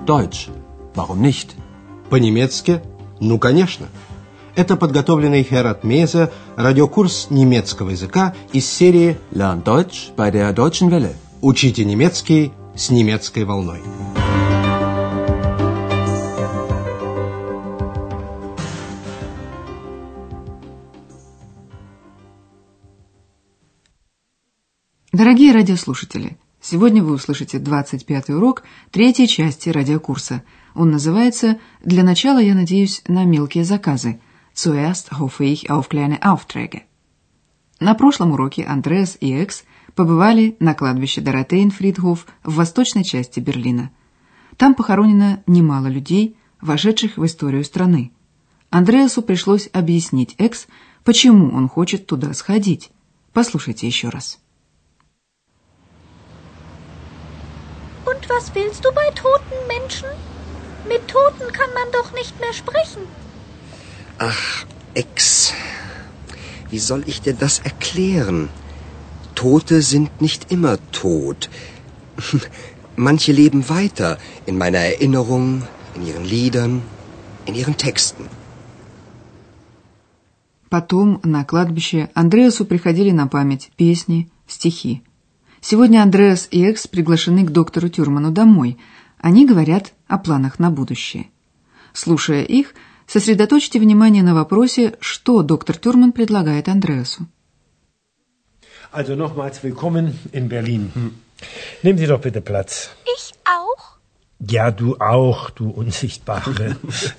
Deutsch. Warum nicht? По-немецки? Ну, конечно. Это подготовленный Херат Мейзе радиокурс немецкого языка из серии Lern Deutsch bei der Deutschen Welle. «Учите немецкий с немецкой волной». Дорогие радиослушатели, сегодня вы услышите 25-й урок третьей части радиокурса. Он называется «Для начала я надеюсь на мелкие заказы» «Zuerst hoffe ich auf kleine Aufträge». На прошлом уроке Андреас и Экс побывали на кладбище Доротеенфридхоф в восточной части Берлина. Там похоронено немало людей, вошедших в историю страны. Андреасу пришлось объяснить Экс, почему он хочет туда сходить. Послушайте еще раз. Und was willst du bei toten Menschen? Mit Toten kann man doch nicht mehr sprechen. Ach, Ex, wie soll ich dir das erklären? Tote sind nicht immer tot. Manche leben weiter in meiner Erinnerung, in ihren Liedern, in ihren Texten. Потом на кладбище Андреасу приходили на память песни, стихи. Сегодня Андреас и Экс приглашены к доктору Тюрману домой. Они говорят о планах на будущее. Слушая их, сосредоточьте внимание на вопросе, что доктор Тюрман предлагает Андреасу. Also nochmals willkommen in Berlin. Nehmen Sie doch bitte Platz. Ich auch? Ja, du auch, du Unsichtbare.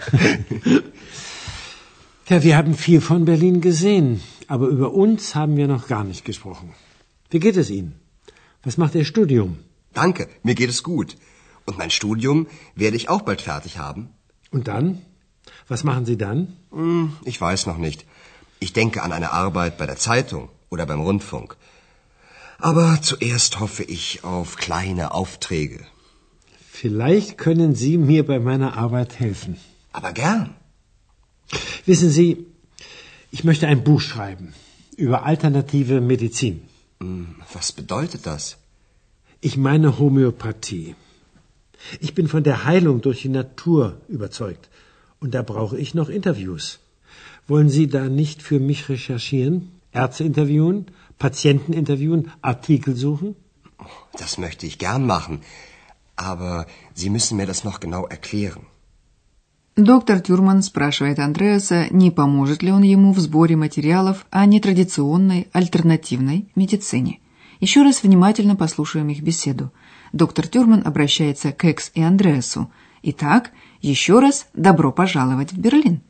Ja, wir haben viel von Berlin gesehen, aber über uns haben wir noch gar nicht gesprochen. Wie geht es Ihnen? Was macht Ihr Studium? Danke, mir geht es gut. Und mein Studium werde ich auch bald fertig haben. Und dann? Was machen Sie dann? Ich weiß noch nicht. Ich denke an eine Arbeit bei der Zeitung oder beim Rundfunk. Aber zuerst hoffe ich auf kleine Aufträge. Vielleicht können Sie mir bei meiner Arbeit helfen. Aber gern. Wissen Sie, ich möchte ein Buch schreiben über alternative Medizin. Was bedeutet das? Ich meine Homöopathie. Ich bin von der Heilung durch die Natur überzeugt. Und da brauche ich noch Interviews. Wollen Sie da nicht für mich recherchieren? Ärzte interviewen? Patienten interviewen? Artikel suchen? Das möchte ich gern machen. Aber Sie müssen mir das noch genau erklären. Доктор Тюрман спрашивает Андреаса, не поможет ли он ему в сборе материалов о нетрадиционной, альтернативной медицине. Еще раз внимательно послушаем их беседу. Доктор Тюрман обращается к Экс и Андреасу. Итак, еще раз добро пожаловать в Берлин.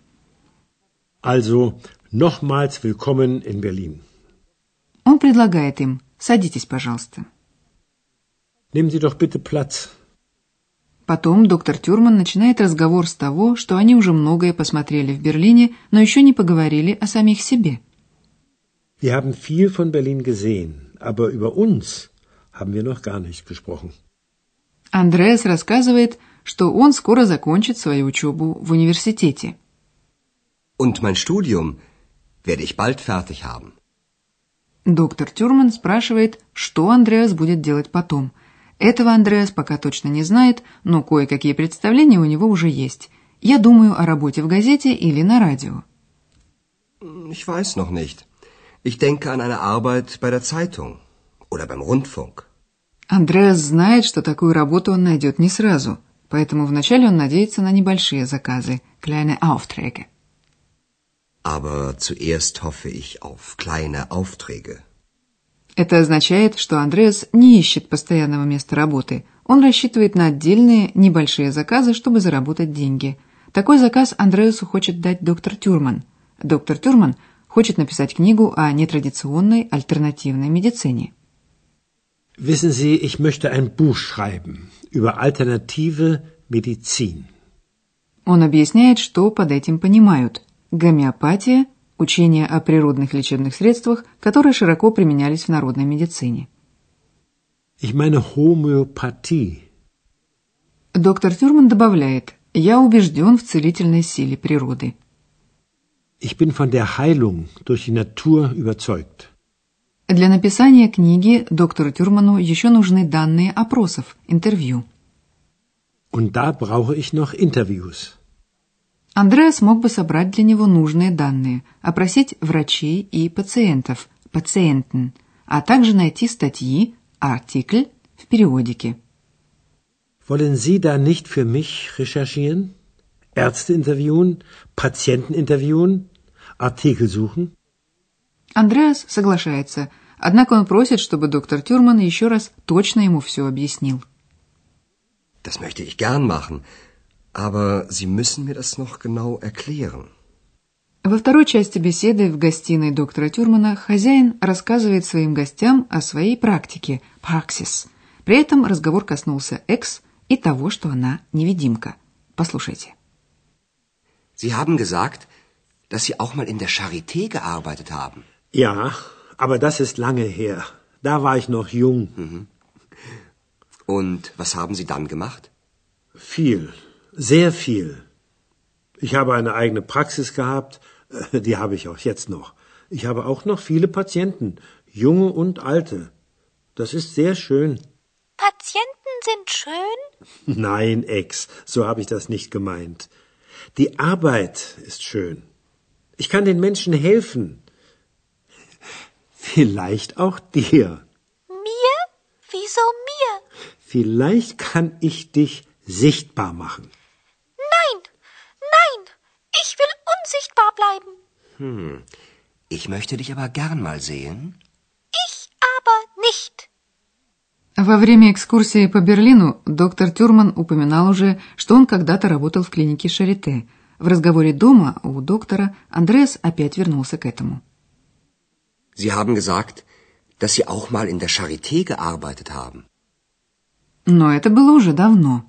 Also, nochmals willkommen in Berlin. Он предлагает им, садитесь, пожалуйста. Nehmen Sie doch bitte Platz. Потом доктор Тюрман начинает разговор с того, что они уже многое посмотрели в Берлине, но еще не поговорили о самих себе. Wir haben viel von Berlin gesehen, aber über uns haben wir noch gar nicht gesprochen. Андреас рассказывает, что он скоро закончит свою учебу в университете. Und mein Studium werde ich bald fertig haben. Доктор Тюрман спрашивает, что Андреас будет делать потом. Этого Андреас пока точно не знает, но кое-какие представления у него уже есть. Я думаю о работе в газете или на радио. Ich weiß noch nicht. Ich denke an eine Arbeit bei der Zeitung oder beim Rundfunk. Андреас знает, что такую работу он найдет не сразу, поэтому вначале он надеется на небольшие заказы, kleine Aufträge. Aber zuerst hoffe ich auf kleine Aufträge. Это означает, что Андреас не ищет постоянного места работы. Он рассчитывает на отдельные небольшие заказы, чтобы заработать деньги. Такой заказ Андреасу хочет дать доктор Тюрман. Доктор Тюрман хочет написать книгу о нетрадиционной альтернативной медицине. Wissen Sie, ich möchte ein Buch schreiben über alternative Medizin. Он объясняет, что под этим понимают. Гомеопатия – учение о природных лечебных средствах, которые широко применялись в народной медицине. Ich meine Homöopathie. Доктор Тюрман добавляет, я убежден в целительной силе природы. Ich bin von der Heilung durch die Natur überzeugt. Для написания книги доктору Тюрману еще нужны данные опросов, интервью. Und da brauche ich noch Interviews. Андреас мог бы собрать для него нужные данные, опросить врачей и пациентов, Patienten, а также найти статьи, Artikel в периодике. Wollen Sie da nicht für mich recherchieren? Ärzte interviewen, Patienten interviewen, Artikel suchen? Андреас соглашается, однако он просит, чтобы доктор Тюрман еще раз точно ему все объяснил. Das möchte ich gern machen, aber Sie müssen mir das noch genau erklären. Во второй части беседы в гостиной доктора Тюрмана хозяин рассказывает своим гостям о своей практике, Praxis. При этом разговор коснулся Экс и того, что она невидимка. Послушайте. Sie haben gesagt, dass Sie auch mal in der Charité gearbeitet haben. Ja, aber das ist lange her. Da war ich noch jung. Mhm. Und was haben Sie dann gemacht? Viel, sehr viel. Ich habe eine eigene Praxis gehabt, die habe ich auch jetzt noch. Ich habe auch noch viele Patienten, junge und alte. Das ist sehr schön. Patienten sind schön? Nein, Ex, so habe ich das nicht gemeint. Die Arbeit ist schön. Ich kann den Menschen helfen. Vielleicht auch dir. Mir? Wieso mir? Vielleicht kann ich dich sichtbar machen. Nein, nein, ich will unsichtbar bleiben. Ich möchte dich aber gern mal sehen. Ich aber nicht. Во время экскурсии по Берлину доктор Тюрман упоминал уже, что он когда-то работал в клинике Шарите. В разговоре дома у доктора Андреас опять вернулся к этому. Sie haben gesagt, dass Sie auch mal in der Charité gearbeitet haben. Но это было уже давно.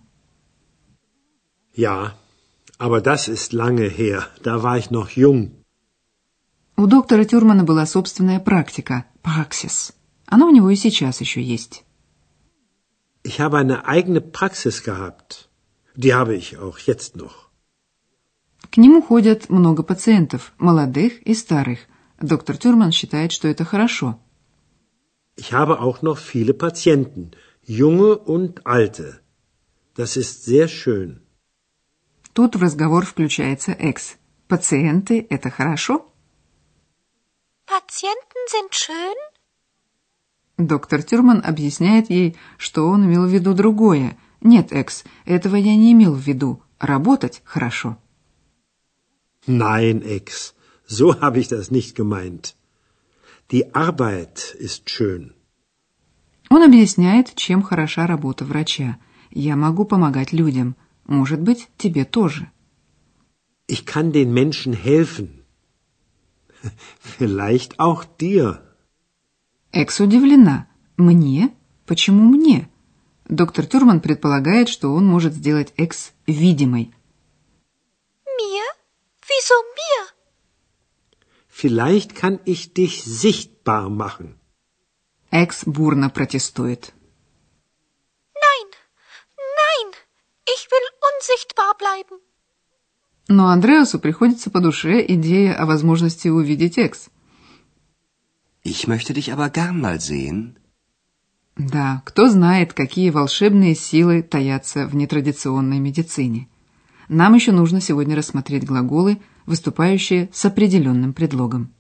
Ja, aber das ist lange her. Da war ich noch jung. У доктора Тюрмана была собственная практика, Praxis. Она у него и сейчас еще есть. Ich habe eine eigene Praxis gehabt. Die habe ich auch jetzt noch. К нему ходят много пациентов, молодых и старых. Доктор Тюрман считает, что это хорошо. Ich habe auch noch viele Patienten, junge und alte. Das ist sehr schön. Тут в разговор включается Экс. Пациенты – это хорошо? Patienten sind schön? Доктор Тюрман объясняет ей, что он имел в виду другое. Нет, Экс, этого я не имел в виду. Работать хорошо. Nein, Ex, so habe ich das nicht gemeint. Die Arbeit ist schön. Он объясняет, чем хороша работа врача. Я могу помогать людям. Может быть, тебе тоже. Ich kann den Menschen helfen. Vielleicht auch dir. Экс удивлена. Мне? Почему мне? Доктор Тюрман предполагает, что он может сделать Экс видимой. Mir? Wieso mir? Vielleicht kann ich dich sichtbar machen. Экс бурно протестует. Nein, nein, ich will unsichtbar bleiben. Но Андреасу приходится по душе идея о возможности увидеть Экс. Ich möchte dich aber gern mal sehen. Да, кто знает, какие волшебные силы таятся в нетрадиционной медицине. Нам еще нужно сегодня рассмотреть глаголы, выступающие с определенным предлогом.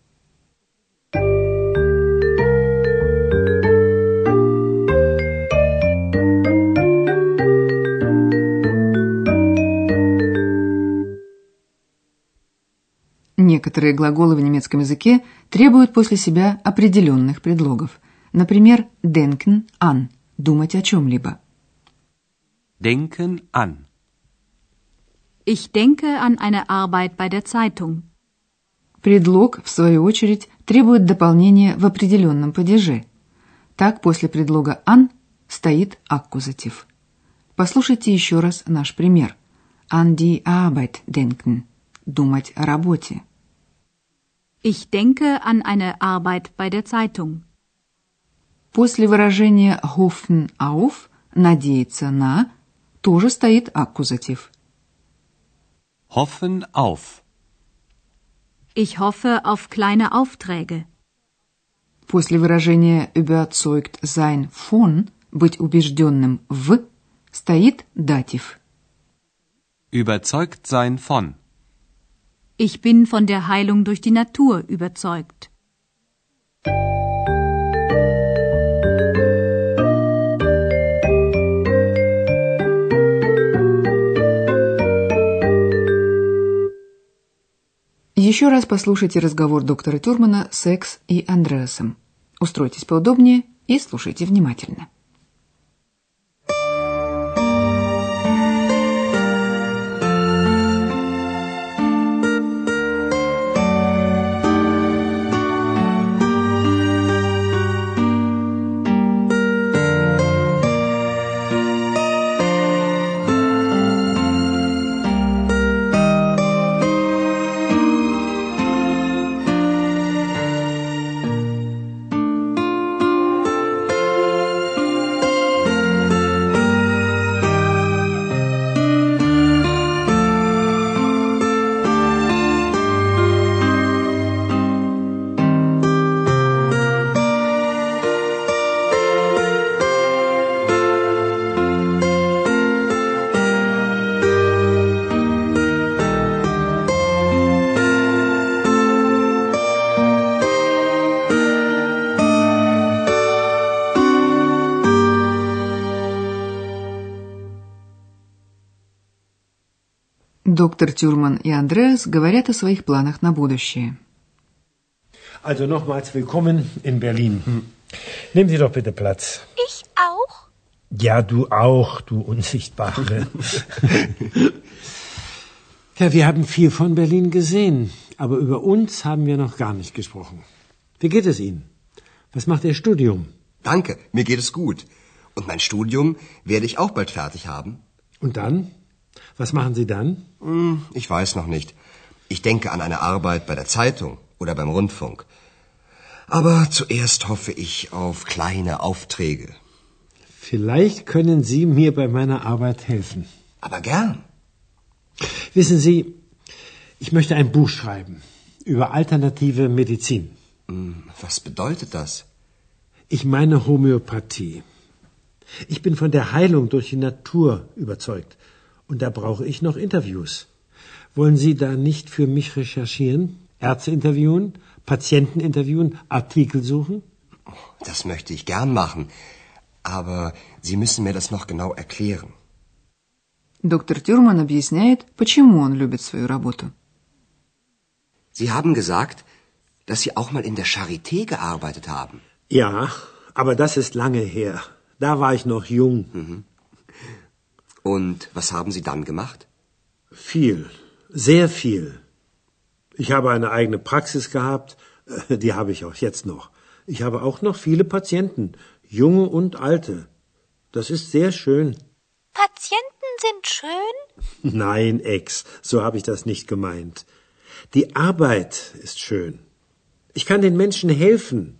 Некоторые глаголы в немецком языке требуют после себя определенных предлогов. Например, denken an – думать о чем-либо. Denken an. Ich denke an eine Arbeit bei der Zeitung. Предлог, в свою очередь, требует дополнения в определенном падеже. Так, после предлога an стоит аккузатив. Послушайте еще раз наш пример. An die Arbeit denken – думать о работе. Ich denke an eine Arbeit bei der Zeitung. После выражения hoffen auf – надеяться на – тоже стоит аккузатив. Hoffen auf. Ich hoffe auf kleine Aufträge. После выражения überzeugt sein von – быть убежденным в – стоит датив Überzeugt sein von. Ich bin von der Heilung durch die Natur überzeugt. Еще раз послушайте разговор доктора Тюрмана с Экс и Андреасом. Устройтесь поудобнее и слушайте внимательно. Доктор Тюрман и Андреас говорят о своих планах на будущее. Also nochmals willkommen in Berlin. Nehmen Sie doch bitte Platz. Ich auch? Ja, du auch, du Unsichtbare. Ja, wir haben viel von Berlin gesehen, aber über uns haben wir noch gar nicht gesprochen. Wie geht es Ihnen? Was macht Ihr Studium? Danke, mir geht es gut. Und mein Studium werde ich auch bald fertig haben. Und dann? Was machen Sie dann? Ich weiß noch nicht. Ich denke an eine Arbeit bei der Zeitung oder beim Rundfunk. Aber zuerst hoffe ich auf kleine Aufträge. Vielleicht können Sie mir bei meiner Arbeit helfen. Aber gern. Wissen Sie, ich möchte ein Buch schreiben über alternative Medizin. Was bedeutet das? Ich meine Homöopathie. Ich bin von der Heilung durch die Natur überzeugt. Und da brauche ich noch Interviews. Wollen Sie da nicht für mich recherchieren? Ärzte interviewen, Patienten interviewen, Artikel suchen? Das möchte ich gern machen. Aber Sie müssen mir das noch genau erklären. Доктор Тюрман объясняет, почему он любит свою работу. Sie haben gesagt, dass Sie auch mal in der Charité gearbeitet haben. Ja, aber das ist lange her. Da war ich noch jung. Und was haben Sie dann gemacht? Viel, sehr viel. Ich habe eine eigene Praxis gehabt, die habe ich auch jetzt noch. Ich habe auch noch viele Patienten, junge und alte. Das ist sehr schön. Patienten sind schön? Nein, Ex, so habe ich das nicht gemeint. Die Arbeit ist schön. Ich kann den Menschen helfen.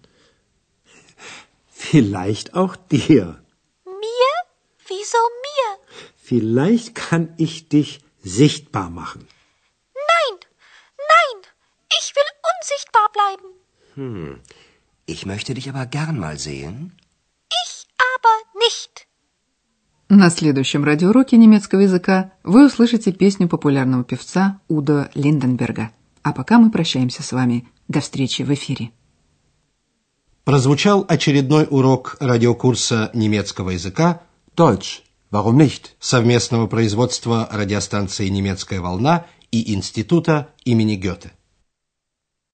Vielleicht auch dir. Mir? Wieso mir? Vielleicht kann ich dich sichtbar machen. Nein, nein, ich will unsichtbar bleiben. Ich möchte dich aber gern mal sehen. Ich aber nicht. На следующем радиоуроке немецкого языка вы услышите песню популярного певца Удо Линденберга. А пока мы прощаемся с вами. До встречи в эфире. Прозвучал очередной урок радиокурса немецкого языка Deutsch. Warum nicht? совместного производства радиостанции «Немецкая волна» и Института имени Гёте.